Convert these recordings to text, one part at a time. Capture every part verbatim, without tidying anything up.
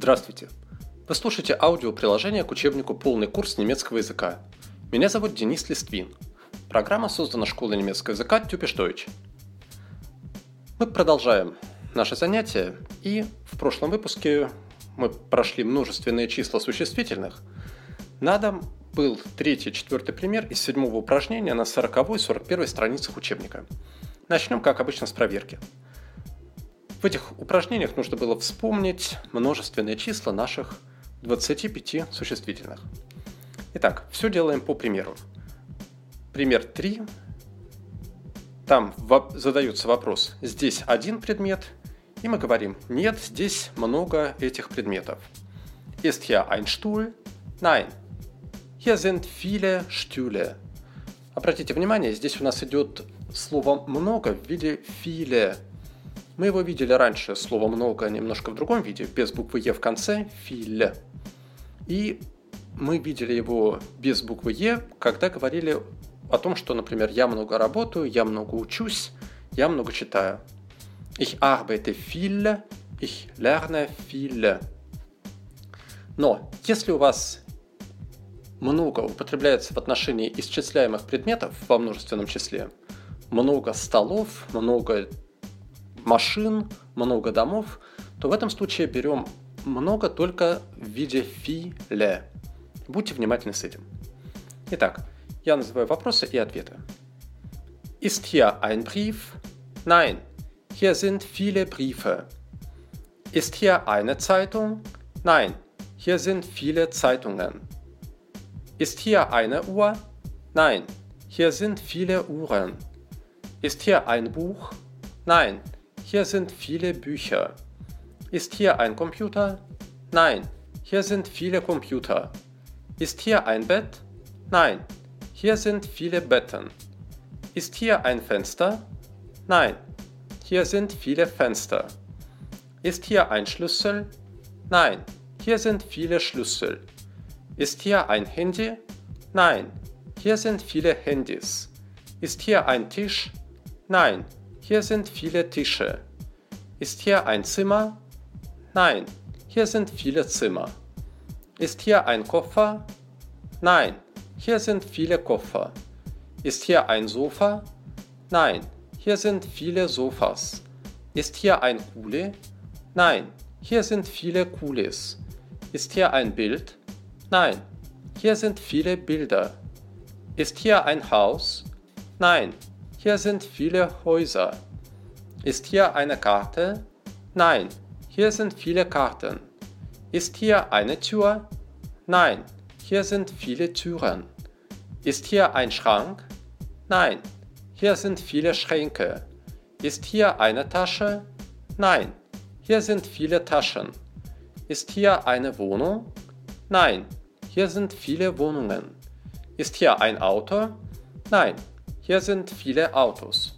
Здравствуйте! Вы слушаете аудиоприложение к учебнику «Полный курс немецкого языка». Меня зовут Денис Листвин. Программа создана школой немецкого языка Typisch Deutsch. Мы продолжаем наше занятие, и в прошлом выпуске мы прошли множественные числа существительных. На дом был третий, четвертый пример из седьмого упражнения на сороковой и сорок первой страницах учебника. Начнем, как обычно, с проверки. В этих упражнениях нужно было вспомнить множественные числа наших двадцати пяти существительных. Итак, все делаем по примеру. Пример три. Там задается вопрос: здесь один предмет, и мы говорим: нет, здесь много этих предметов. Ist hier ein Stuhl? Nein. Hier sind viele Stühle. Обратите внимание, здесь у нас идет слово «много» в виде viele. Мы его видели раньше, слово «много» немножко в другом виде, без буквы «е» в конце, viele. И мы видели его без буквы «е», когда говорили о том, что, например, я много работаю, я много учусь, я много читаю. Ich arbeite viel, ich lerne viel. Но если у вас много употребляется в отношении исчисляемых предметов во множественном числе, много столов, много машин, много домов, то в этом случае берем много только в виде viele. Будьте внимательны с этим. Итак, я называю вопросы и ответы. Ist hier ein Brief? Nein, hier sind viele Briefe. Ist hier eine Zeitung? Nein, hier sind viele Zeitungen. Ist hier eine Uhr? Nein, hier sind viele Uhren. Ist hier ein Buch? Nein, hier sind viele Bücher. Ist hier ein Computer? Nein, hier sind viele Computer. Ist hier ein Bett? Nein, hier sind viele Betten. Ist hier ein Fenster? Nein, hier sind viele Fenster. Ist hier ein Schlüssel? Nein, hier sind viele Schlüssel. Ist hier ein Handy? Nein, hier sind viele Handys. Ist hier ein Tisch? Nein, hier sind viele Tische. Ist hier ein Zimmer? Nein, hier sind viele Zimmer. Ist hier ein Koffer? Nein, hier sind viele Koffer. Ist hier ein Sofa? Nein, hier sind viele Sofas. Ist hier ein Kuli? Nein, hier sind viele Kulis. Ist hier ein Bild? Nein, hier sind viele Bilder. Ist hier ein Haus? Nein, hier sind viele Häuser. Ist hier eine Karte? Nein, hier sind viele Karten. Ist hier eine Tür? Nein, hier sind viele Türen. Ist hier ein Schrank? Nein, hier sind viele Schränke. Ist hier eine Tasche? Nein, hier sind viele Taschen. Ist hier eine Wohnung? Nein, hier sind viele Wohnungen. Ist hier ein Auto? Nein, hier sind viele Autos.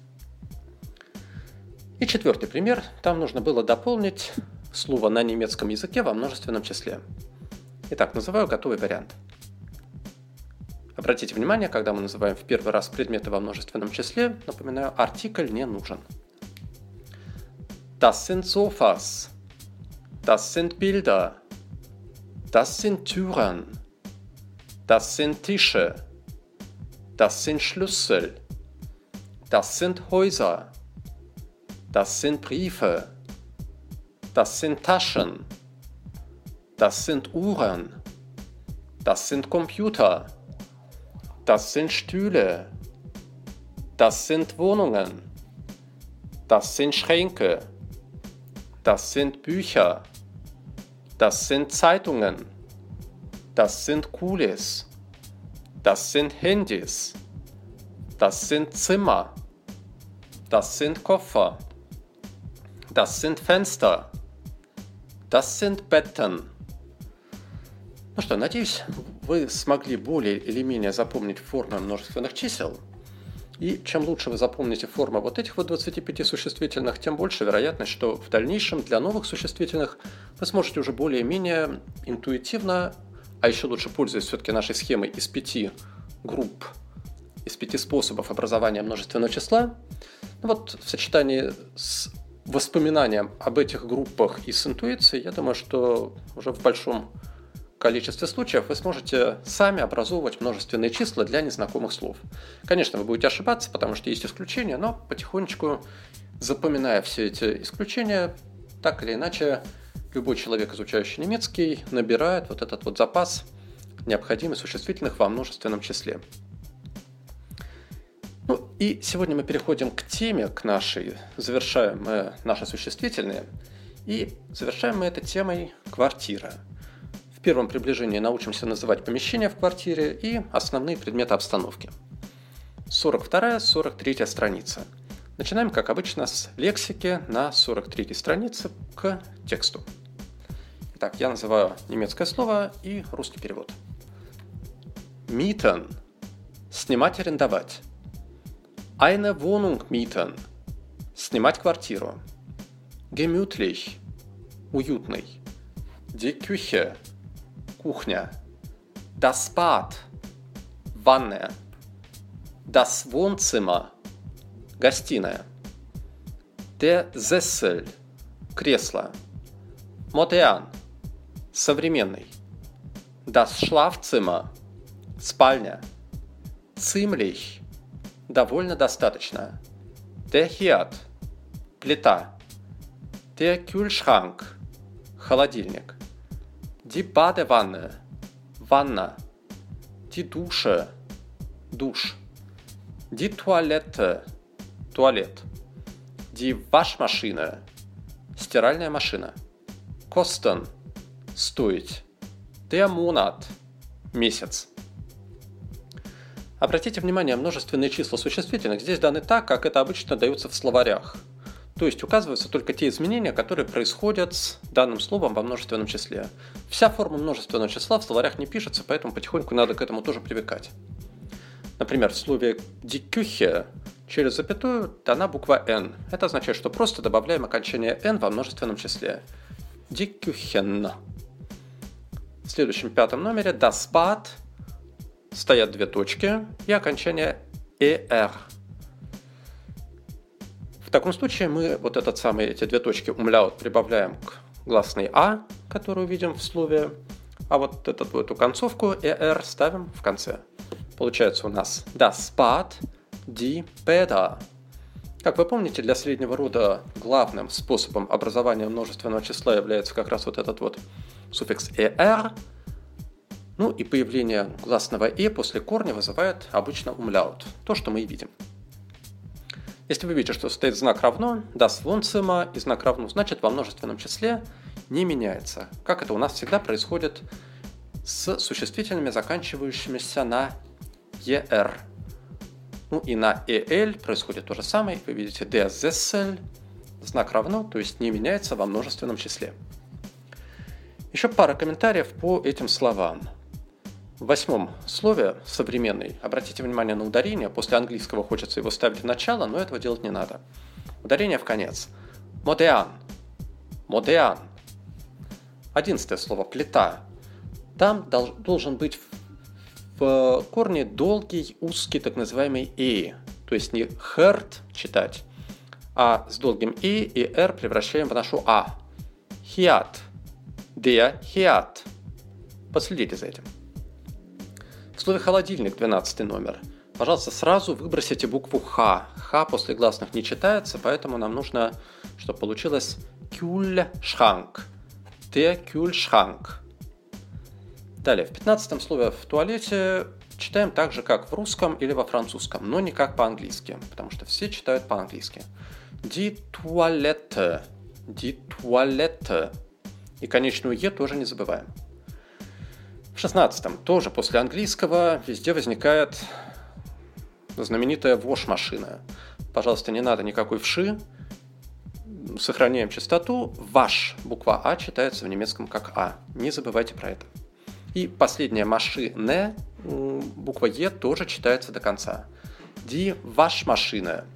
И четвертый пример. Там нужно было дополнить слово на немецком языке во множественном числе. Итак, называю готовый вариант. Обратите внимание, когда мы называем в первый раз предметы во множественном числе, напоминаю, артикль не нужен. Das sind Sofas. Das sind Bilder. Das sind Türen. Das sind Tische. Das sind Schlüssel. Das sind Häuser. Das sind Briefe. Das sind Taschen. Das sind Uhren. Das sind Computer. Das sind Stühle. Das sind Wohnungen. Das sind Schränke. Das sind Bücher. Das sind Zeitungen. Das sind Kulis. Das sind Handys. Das sind Zimmer. Das sind Koffer. Das sind Fenster. Das sind Betten. Ну что, надеюсь, вы смогли более или менее запомнить формы множественных чисел. И чем лучше вы запомните формы вот этих вот двадцати пяти существительных, тем больше вероятность, что в дальнейшем для новых существительных вы сможете уже более-менее интуитивно, а еще лучше пользуясь все-таки нашей схемой из пяти групп, из пяти способов образования множественного числа, ну вот в сочетании с воспоминаниям об этих группах и с интуицией, я думаю, что уже в большом количестве случаев вы сможете сами образовывать множественные числа для незнакомых слов. Конечно, вы будете ошибаться, потому что есть исключения, но потихонечку, запоминая все эти исключения, так или иначе, любой человек, изучающий немецкий, набирает вот этот вот запас необходимых существительных во множественном числе. Ну и сегодня мы переходим к теме, к нашей, завершаем мы наши существительные, и завершаем мы этой темой квартира. В первом приближении научимся называть помещения в квартире и основные предметы обстановки. сорок вторая - сорок третья страница. Начинаем, как обычно, с лексики на сорок третьей странице к тексту. Итак, я называю немецкое слово и русский перевод. Mieten – снимать, арендовать. Eine Wohnung mieten – снимать квартиру. Gemütlich – уютный. Die Küche – кухня. Das Bad – ванная. Das Wohnzimmer – гостиная. Der Sessel – кресло. Modern – современный. Das Schlafzimmer – спальня. Ziemlich – довольно достаточно. Der Herd – плита. Der Kühlschrank – холодильник. Die Badewanne – ванна. Die Dusche – душ. Die Toilette – туалет. Die Waschmaschine – стиральная машина. Kosten – стоить. Der Monat – месяц. Обратите внимание, множественные числа существительных здесь даны так, как это обычно дается в словарях. То есть указываются только те изменения, которые происходят с данным словом во множественном числе. Вся форма множественного числа в словарях не пишется, поэтому потихоньку надо к этому тоже привыкать. Например, в слове die Küche через запятую дана буква N. Это означает, что просто добавляем окончание N во множественном числе. Die Küchen. В следующем пятом номере das Bad стоят две точки и окончание er. В таком случае мы вот этот самый, эти две точки умляут прибавляем к гласной а, которую видим в слове, а вот эту, эту концовку er ставим в конце. Получается у нас das Bad, die Bäder. Как вы помните, для среднего рода главным способом образования множественного числа является как раз вот этот вот суффикс er. Ну и появление гласного «э» после корня вызывает обычно умляут. То, что мы и видим. Если вы видите, что стоит знак равно, das Wohnzimmer и знак равно, значит во множественном числе не меняется. Как это у нас всегда происходит с существительными, заканчивающимися на er. Ну и на el происходит то же самое. Вы видите der Sessel, знак равно, то есть не меняется во множественном числе. Еще пара комментариев по этим словам. В восьмом слове «современный» обратите внимание на ударение. После английского хочется его ставить в начало, но этого делать не надо. Ударение в конец. Modern. Modern. Одиннадцатое слово «плита». Там должен быть в корне долгий, узкий, так называемый «и». То есть не «herd» читать, а с долгим «и» и «р» превращаем в нашу «а». Herd. Der Herd. Последите за этим. В слове «холодильник» двенадцатый номер. Пожалуйста, сразу выбросите букву «х». «Х» после гласных не читается, поэтому нам нужно, чтобы получилось «Kühlschrank». Der Kühlschrank. Далее, в пятнадцатом слове «в туалете» читаем так же, как в русском или во французском, но не как по-английски, потому что все читают по-английски. Die Toilette. Die Toilette. И конечную «е» тоже не забываем. В шестнадцатом тоже после английского везде возникает знаменитая wash-машина. Пожалуйста, не надо никакой вши. Сохраняем чистоту. Ваш, буква А читается в немецком как А. Не забывайте про это. И последняя машина, буква Е тоже читается до конца. Die Waschmaschine.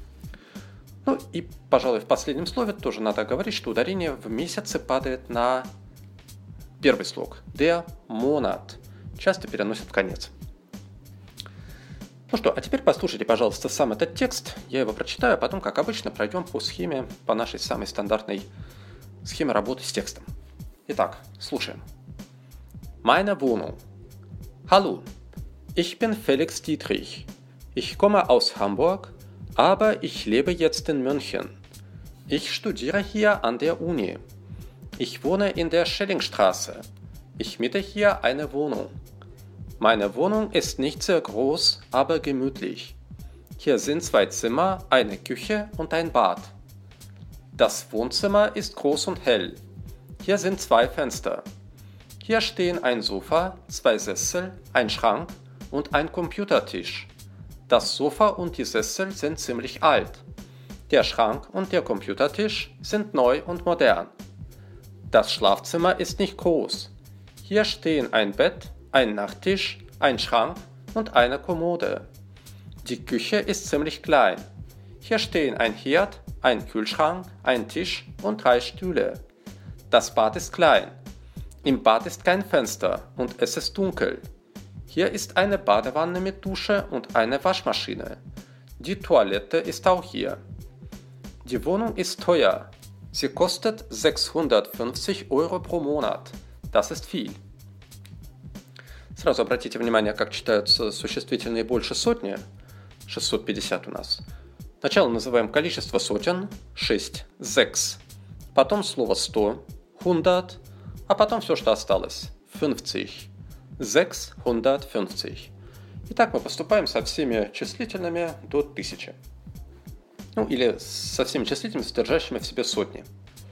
Ну и, пожалуй, в последнем слове тоже надо говорить, что ударение в месяце падает на первый слог. Der Monat. Часто переносят в конец. Ну что, а теперь послушайте, пожалуйста, сам этот текст. Я его прочитаю, а потом, как обычно, пройдем по схеме, по нашей самой стандартной схеме работы с текстом. Итак, слушаем. Meine Wohnung. Hallo, ich bin Felix Dietrich. Ich komme aus Hamburg, aber ich lebe jetzt in München. Ich studiere hier an der Uni. Ich wohne in der Schellingstraße. Ich miete hier eine Wohnung. Meine Wohnung ist nicht sehr groß, aber gemütlich. Hier sind zwei Zimmer, eine Küche und ein Bad. Das Wohnzimmer ist groß und hell. Hier sind zwei Fenster. Hier stehen ein Sofa, zwei Sessel, ein Schrank und ein Computertisch. Das Sofa und die Sessel sind ziemlich alt. Der Schrank und der Computertisch sind neu und modern. Das Schlafzimmer ist nicht groß. Hier stehen ein Bett, ein Nachttisch, ein Schrank und eine Kommode. Die Küche ist ziemlich klein. Hier stehen ein Herd, ein Kühlschrank, ein Tisch und drei Stühle. Das Bad ist klein. Im Bad ist kein Fenster und es ist dunkel. Hier ist eine Badewanne mit Dusche und eine Waschmaschine. Die Toilette ist auch hier. Die Wohnung ist teuer. Sie kostet sechshundertfünfzig Euro pro Monat. Das ist viel. Сразу обратите внимание, как читаются существительные больше сотни. шестьсот пятьдесят у нас. Сначала называем количество сотен. шесть. sechs. Потом слово сто. hundert. А потом все, что осталось. fünfzig. sechshundertfünfzig. И так мы поступаем со всеми числительными до тысячи. Ну, или со всеми числительными, содержащими в себе сотни.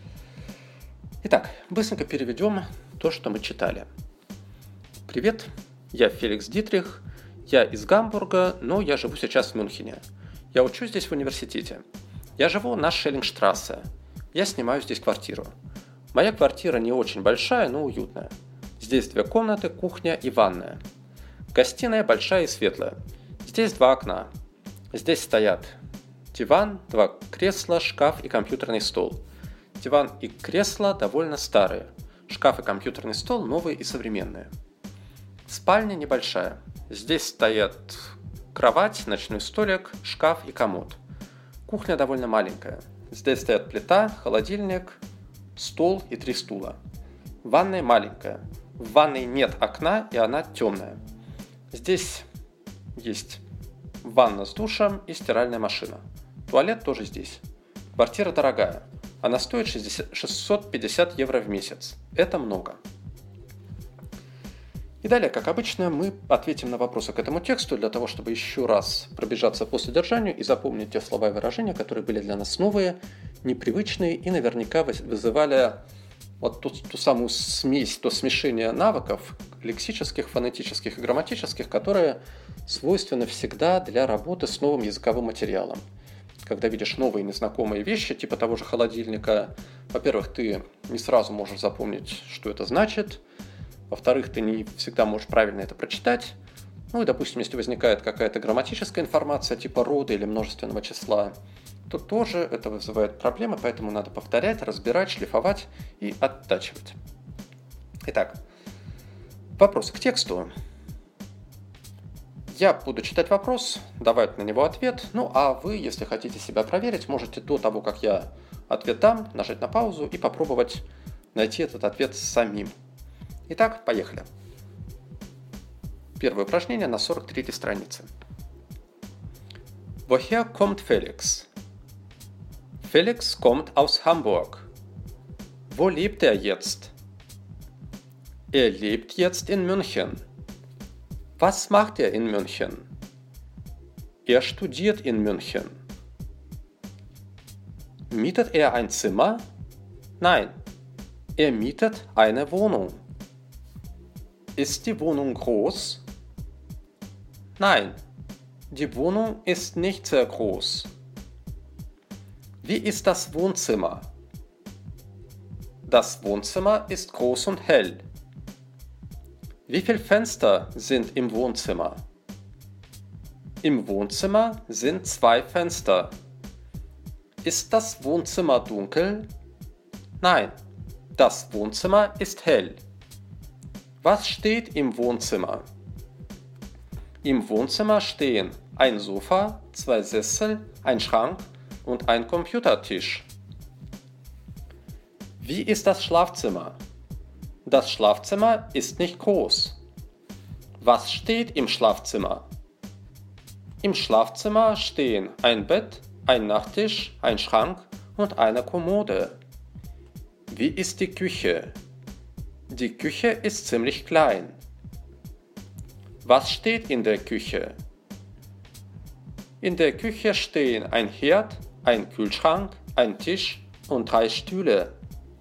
Итак, быстренько переведем то, что мы читали. Привет, я Феликс Дитрих, я из Гамбурга, но я живу сейчас в Мюнхене. Я учусь здесь в университете. Я живу на Шеллингштрассе. Я снимаю здесь квартиру. Моя квартира не очень большая, но уютная. Здесь две комнаты, кухня и ванная. Гостиная большая и светлая. Здесь два окна. Здесь стоят диван, два кресла, шкаф и компьютерный стол. Диван и кресло довольно старые. Шкаф и компьютерный стол новые и современные. Спальня небольшая. Здесь стоят кровать, ночной столик, шкаф и комод. Кухня довольно маленькая. Здесь стоят плита, холодильник, стол и три стула. Ванная маленькая. В ванной нет окна, и она темная. Здесь есть ванна с душем и стиральная машина. Туалет тоже здесь. Квартира дорогая. Она стоит шестьсот пятьдесят евро в месяц. Это много. И далее, как обычно, мы ответим на вопросы к этому тексту для того, чтобы еще раз пробежаться по содержанию и запомнить те слова и выражения, которые были для нас новые, непривычные и наверняка вызывали вот ту, ту самую смесь, то смешение навыков лексических, фонетических и грамматических, которые свойственны всегда для работы с новым языковым материалом. Когда видишь новые незнакомые вещи, типа того же холодильника, во-первых, ты не сразу можешь запомнить, что это значит, во-вторых, ты не всегда можешь правильно это прочитать, ну и, допустим, если возникает какая-то грамматическая информация, типа рода или множественного числа, то тоже это вызывает проблемы, поэтому надо повторять, разбирать, шлифовать и оттачивать. Итак, вопрос к тексту. Я буду читать вопрос, давать на него ответ, ну а вы, если хотите себя проверить, можете до того, как я ответ дам, нажать на паузу и попробовать найти этот ответ самим. Итак, поехали. Первое упражнение на сорок третьей странице. Woher kommt Felix? Felix kommt aus Hamburg. Wo lebt er jetzt? Er lebt jetzt in München. Was macht er in München? Er studiert in München. Mietet er ein Zimmer? Nein, er mietet eine Wohnung. Ist die Wohnung groß? Nein, die Wohnung ist nicht sehr groß. Wie ist das Wohnzimmer? Das Wohnzimmer ist groß und hell. Wie viele Fenster sind im Wohnzimmer? Im Wohnzimmer sind zwei Fenster. Ist das Wohnzimmer dunkel? Nein, das Wohnzimmer ist hell. Was steht im Wohnzimmer? Im Wohnzimmer stehen ein Sofa, zwei Sessel, ein Schrank und ein Computertisch. Wie ist das Schlafzimmer? Das Schlafzimmer ist nicht groß. Was steht im Schlafzimmer? Im Schlafzimmer stehen ein Bett, ein Nachttisch, ein Schrank und eine Kommode. Wie ist die Küche? Die Küche ist ziemlich klein. Was steht in der Küche? In der Küche stehen ein Herd, ein Kühlschrank, ein Tisch und drei Stühle.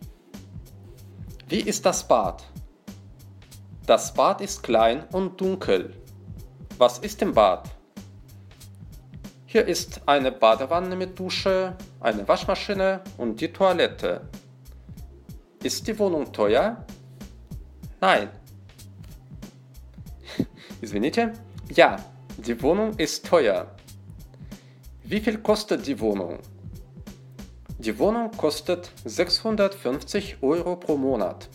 Wie ist das Bad? Das Bad ist klein und dunkel. Was ist im Bad? Hier ist eine Badewanne mit Dusche, eine Waschmaschine und die Toilette. Ist die Wohnung teuer? Nein. Извините? Ja, die Wohnung ist teuer. Wie viel kostet die Wohnung? Die Wohnung kostet sechshundertfünfzig Euro pro Monat.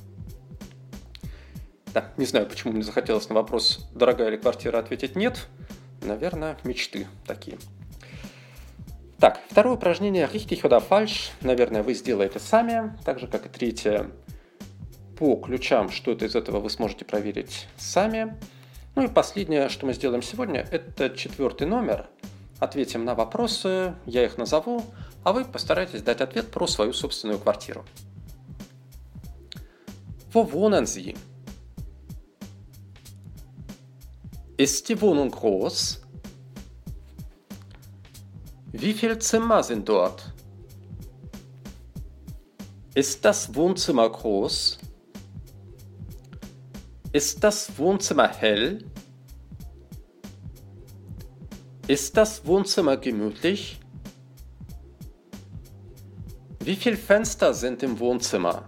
Да, не знаю, почему мне захотелось на вопрос, дорогая ли квартира, ответить нет. Наверное, мечты такие. Так, второе упражнение richtig oder falsch. Наверное, вы сделаете сами, так же, как и третье. По ключам что-то из этого вы сможете проверить сами. Ну и последнее, что мы сделаем сегодня, это четвертый номер. Ответим на вопросы, я их назову, а вы постарайтесь дать ответ про свою собственную квартиру. Wo wohnen Sie? Ist die Wohnung groß? Wie viele Zimmer sind dort? Ist das Wohnzimmer groß? Ist das Wohnzimmer hell? Ist das Wohnzimmer gemütlich? Wie viele Fenster sind im Wohnzimmer?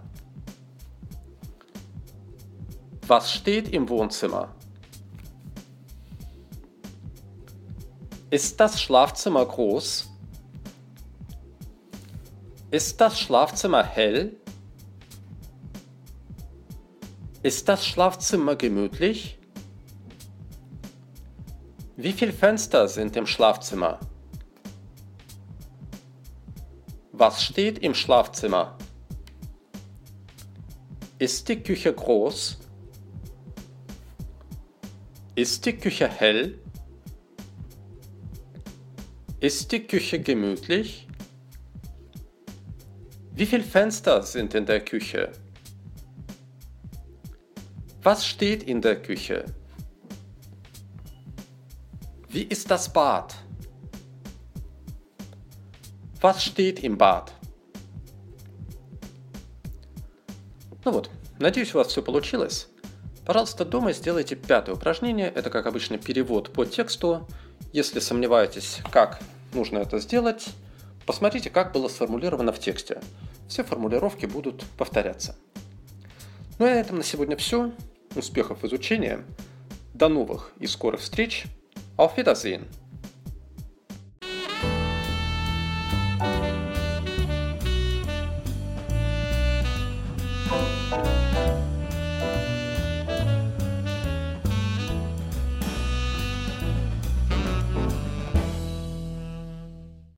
Was steht im Wohnzimmer? Ist das Schlafzimmer groß? Ist das Schlafzimmer hell? Ist das Schlafzimmer gemütlich? Wie viele Fenster sind im Schlafzimmer? Was steht im Schlafzimmer? Ist die Küche groß? Ist die Küche hell? Ist die Küche gemütlich? Wie viele Fenster sind in der Küche? Was steht in der Küche? Wie ist das Bad? Was steht im Bad? Ну вот, надеюсь, у вас все получилось. Пожалуйста, дома сделайте пятое упражнение. Это, как обычно, перевод по тексту. Если сомневаетесь, как нужно это сделать, посмотрите, как было сформулировано в тексте. Все формулировки будут повторяться. Ну и на этом на сегодня все. Успехов в изучении. До новых и скорых встреч. Auf Wiedersehen.